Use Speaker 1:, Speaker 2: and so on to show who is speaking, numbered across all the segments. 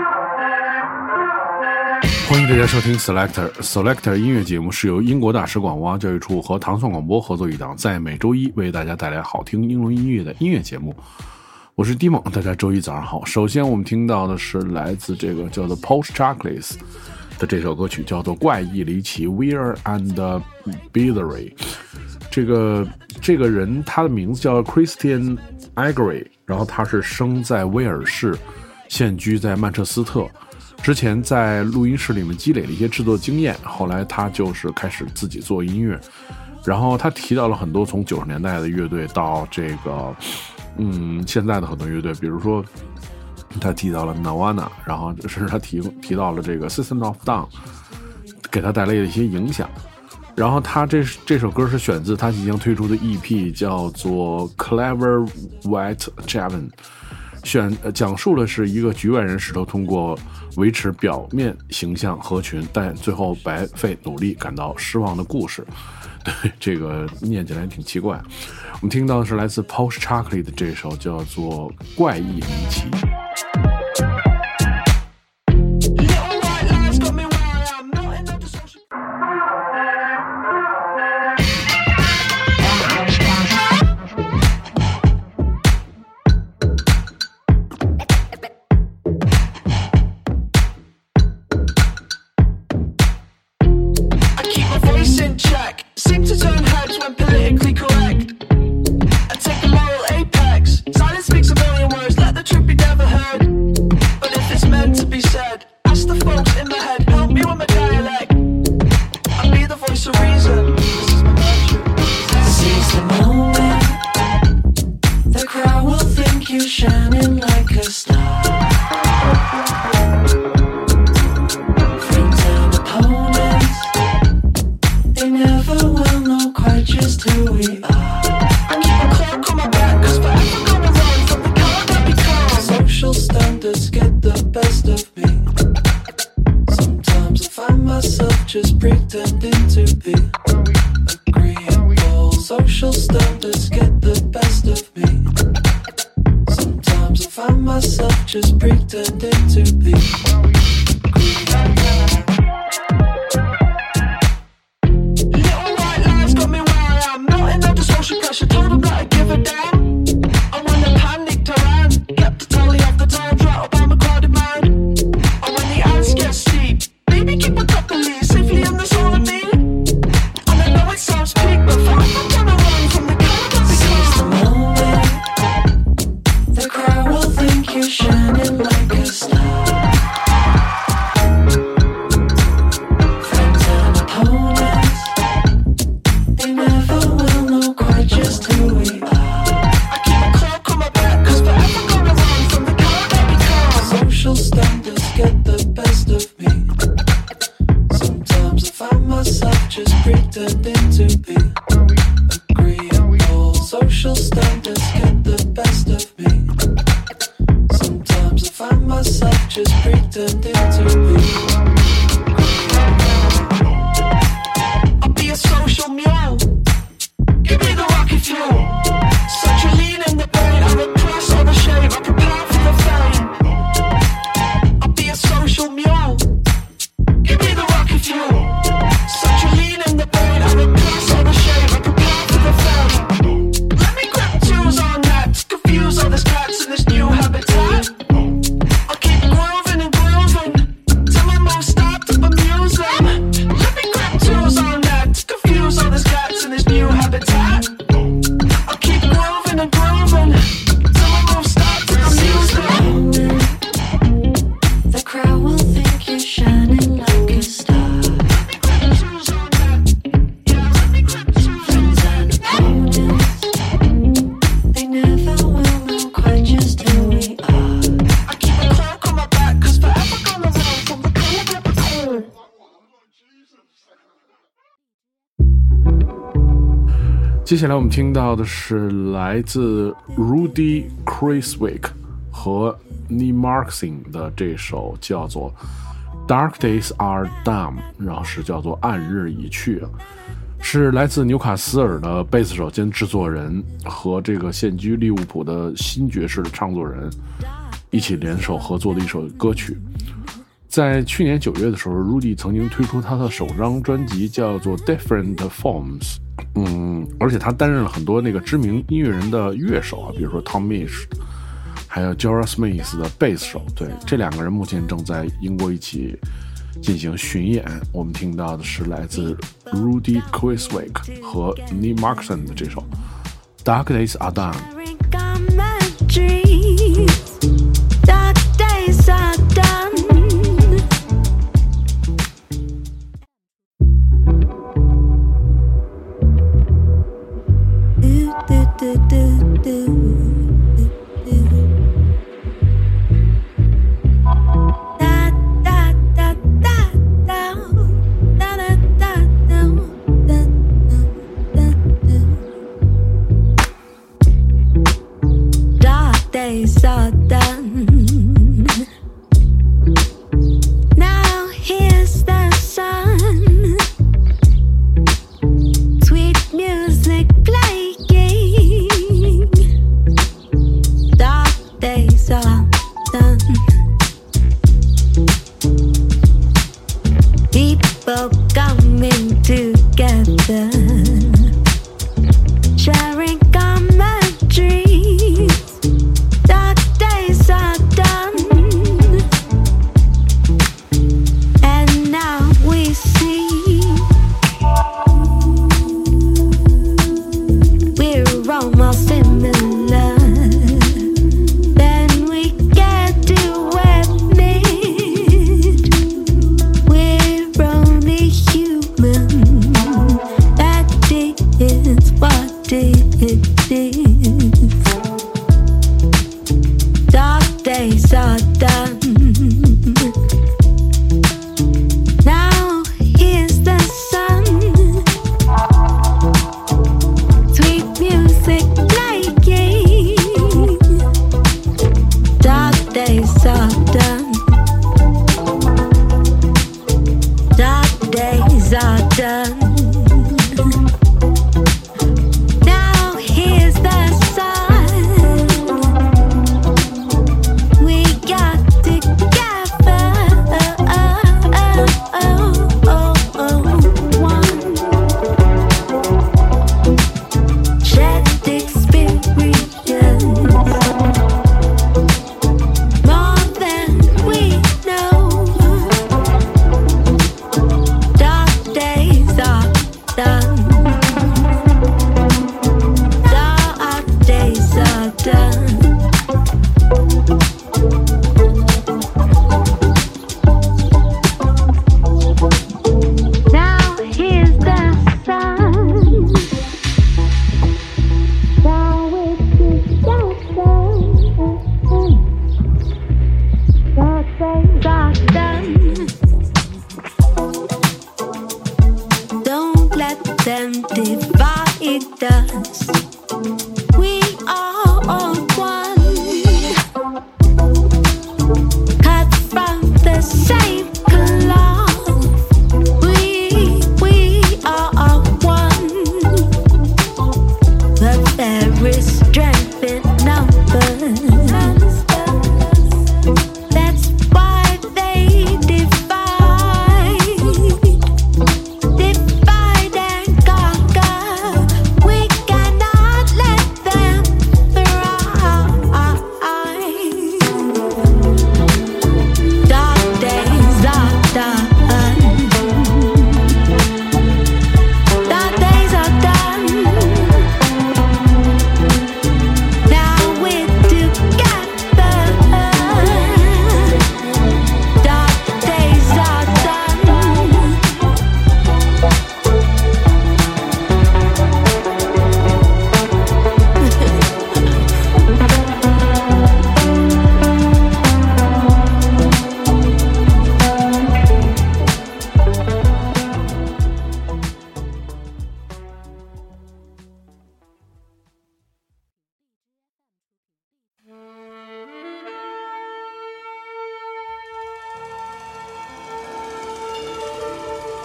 Speaker 1: 欢迎大家收听 Selector 音乐节目，是由英国大使馆文化教育处和糖蒜广播合作一档，在每周一为大家带来好听英伦音乐的音乐节目。我是 Dimon， 大家周一早上好。首先我们听到的是来自这个叫做 Post Chocolates 的这首歌曲，叫做怪异离奇 Weird and Bizarre。这个人他的名字叫 Christian Gregory， 然后他是生在威尔士，现居在曼彻斯特。之前在录音室里面积累了一些制作经验，后来他就是开始自己做音乐。然后他提到了很多从90年代的乐队到这个现在的很多乐队，比如说他提到了 Nirvana， 然后甚至他提到了这个 System of Down， 给他带来的一些影响。然后他这首歌是选自他即将推出的 EP， 叫做 Clever White Javan， 讲述的是一个局外人试图通过维持表面形象合群，但最后白费努力感到失望的故事。对，这个念起来挺奇怪。我们听到的是来自 Post Chocolate 的这首叫做怪异离奇。接下来我们听到的是来自 Rudy Criswick 和 Nemarxin 的这首叫做 Dark Days Are Done， 然后是叫做暗日已去。 是来自纽卡斯尔的贝斯手兼制作人和这个现居利物浦的新爵士的唱作人一起联手合作的一首歌曲。在去年9月的时候 Rudy 曾经推出他的首张专辑叫做 Different Forms， 而且他担任了很多那个知名音乐人的乐手啊，比如说 Tom Misch 还有 Jorah Smith 的贝斯手。对，这两个人目前正在英国一起进行巡演。我们听到的是来自 Rudy Criswick 和 Neil Markson 的这首 Dark Days Are Done。
Speaker 2: Dark days are done. Days are done. Now here's the sun. Sweet music playing. Dark days are done. People coming together, sharing common dreams. Dark days are done, and now we see we're almost similar. Then we get to admit we're only human. That is what it is. Dark days are done. Now here's the sun. Sweet music playing. Dark days are done. Dark days are done. Now here's the sun. We got together, one shared experience, more than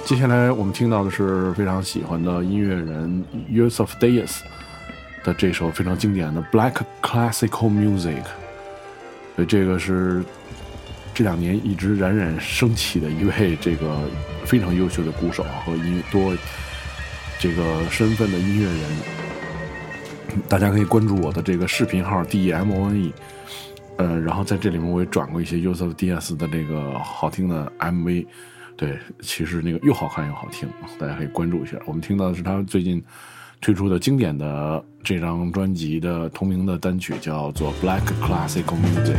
Speaker 1: 接下来我们听到的是非常喜欢的音乐人 Yusuf Dayes 的这首非常经典的 Black Classical Music。所以这个是这2年一直冉冉升起的一位这个非常优秀的鼓手和多这个身份的音乐人。大家可以关注我的这个视频号 DEMONE， 然后在这里面我也转过一些 Yusuf Dayes 的这个好听的 MV。对，其实那个又好看又好听，大家可以关注一下。我们听到的是他最近推出的经典的这张专辑的同名的单曲，叫做 Black Classical Music。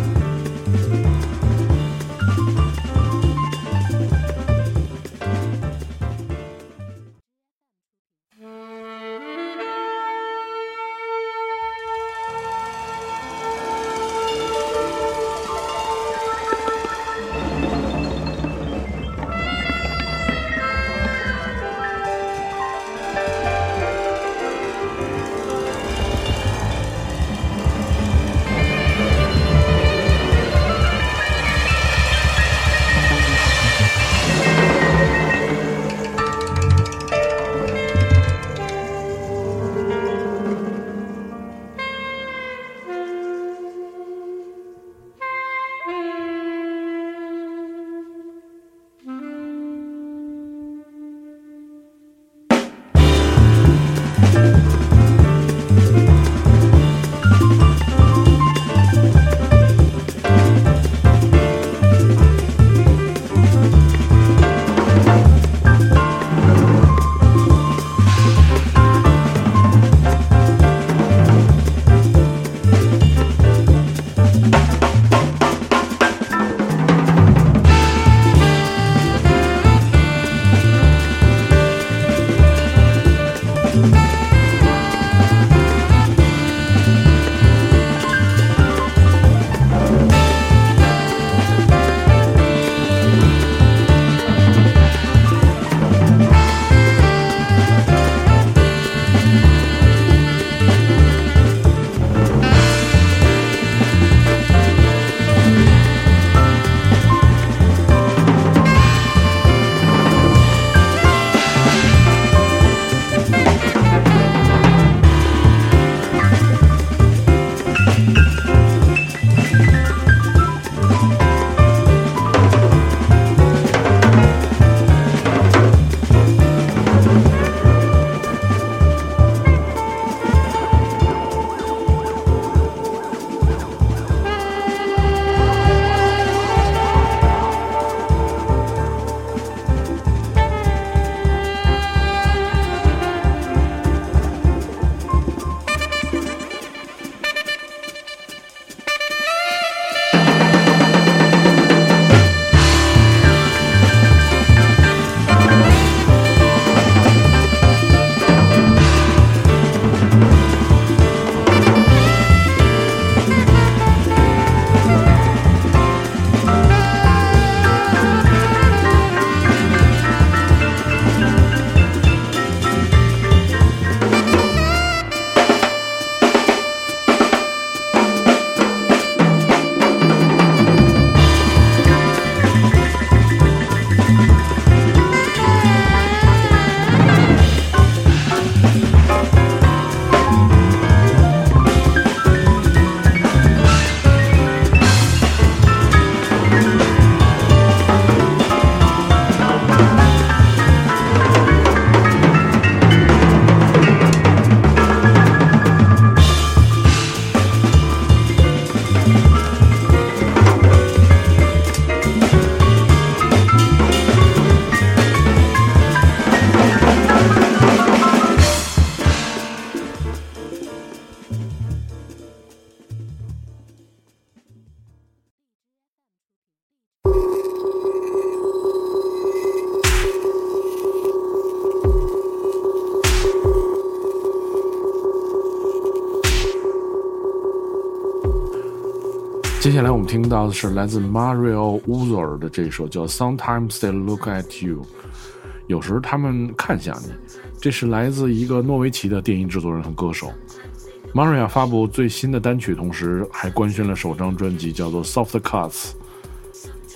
Speaker 1: 接下来我们听到的是来自 Mario Uzor 的这首叫 Sometimes They Look at You， 有时他们看向你。这是来自一个诺维奇的电音制作人和歌手。Maria 发布最新的单曲，同时还官宣了首张专辑，叫做 Soft Cuts。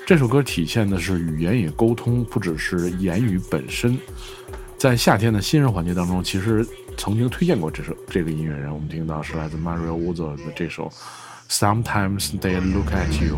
Speaker 1: 这首歌体现的是语言与沟通，不只是言语本身。在夏天的新人环节当中，其实曾经推荐过这个音乐人，我们听到是来自 Mario Uzo 的这首 Sometimes They Look at You。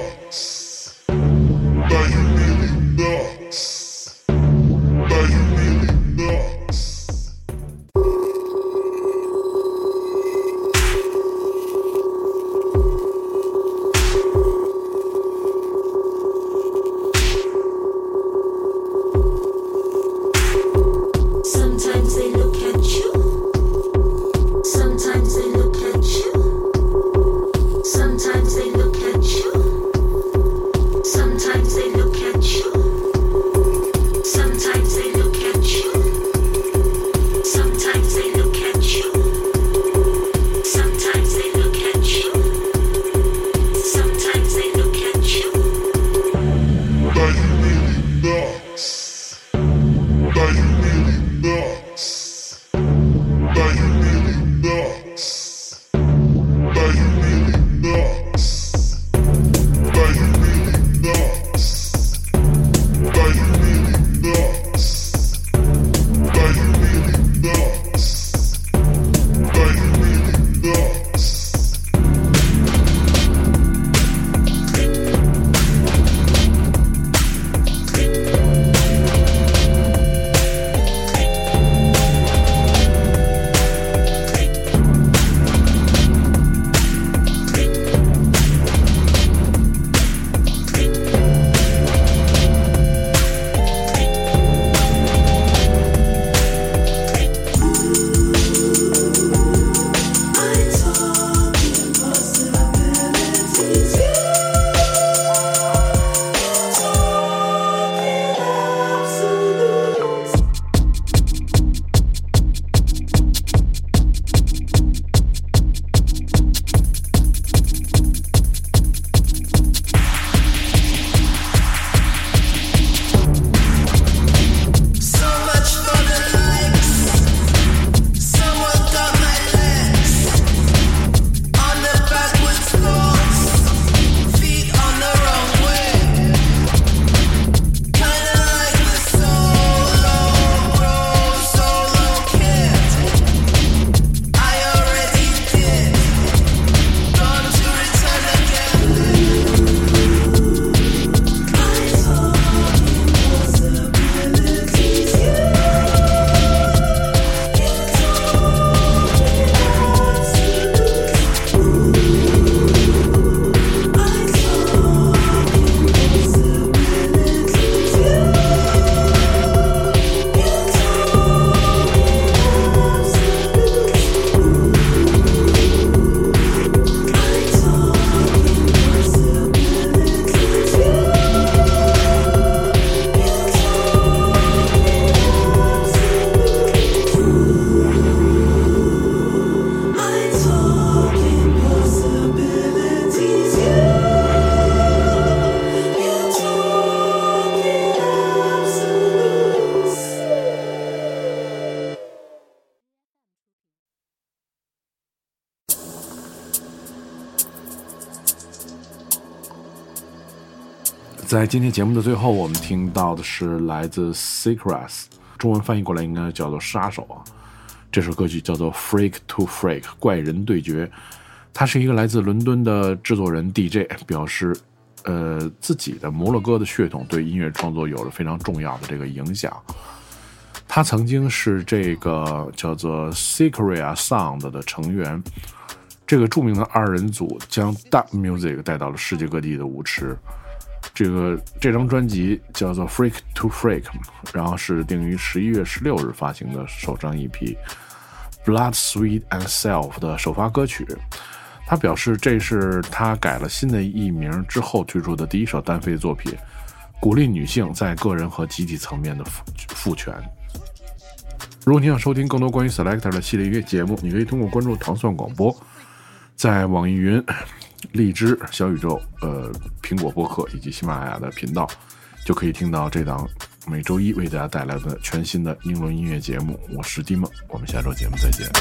Speaker 1: 在今天节目的最后，我们听到的是来自 Secrets， 中文翻译过来应该叫做杀手啊。这首歌曲叫做 Freak to Freak， 怪人对决。他是一个来自伦敦的制作人 DJ， 表示自己的摩洛哥的血统对音乐创作有了非常重要的这个影响。他曾经是这个叫做 Secret Sound 的成员，这个著名的二人组将 Dub Music 带到了世界各地的舞池。这张专辑叫做 Freak to Freak， 然后是定于11月16日发行的首张 EP Blood, Sweat and Self 的首发歌曲。他表示这是他改了新的艺名之后推出的第一首单飞作品，鼓励女性在个人和集体层面的赋权。如果你想收听更多关于 Selector 的系列音乐节目，你可以通过关注糖蒜广播，在网易云、荔枝、小宇宙、苹果播客以及喜马拉雅的频道，就可以听到这档每周一为大家带来的全新的英伦音乐节目。我是 Dimon， 我们下周节目再见。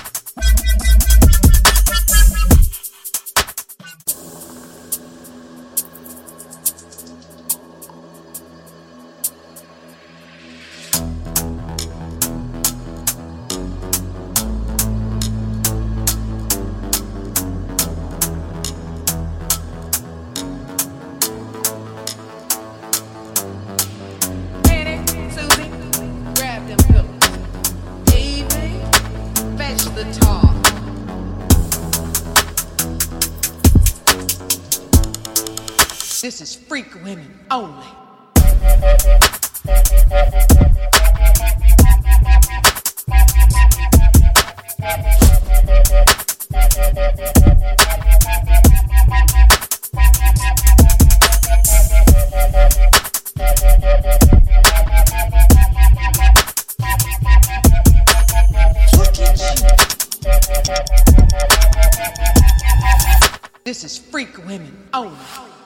Speaker 3: This is freak women only. This is freak women only.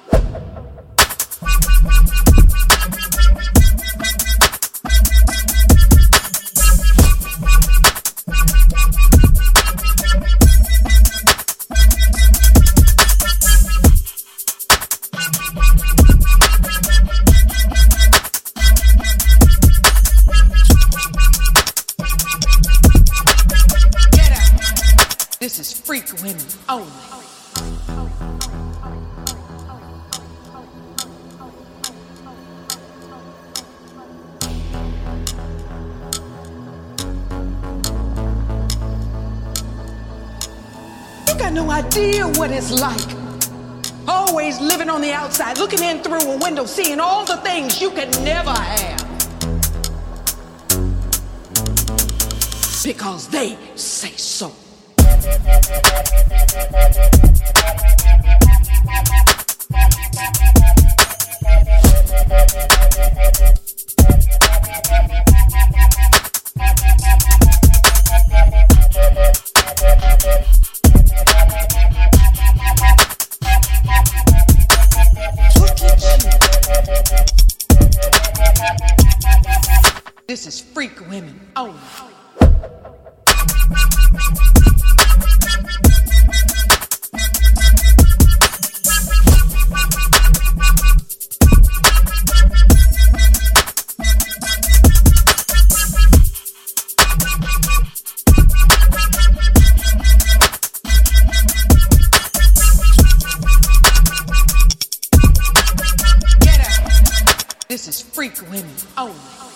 Speaker 3: Get out. This is freak women only. Got no idea what it's like. Always living on the outside, looking in through a window, seeing all the things you could never have. Because they say so. This is freak women only. Get out. This is freak women only.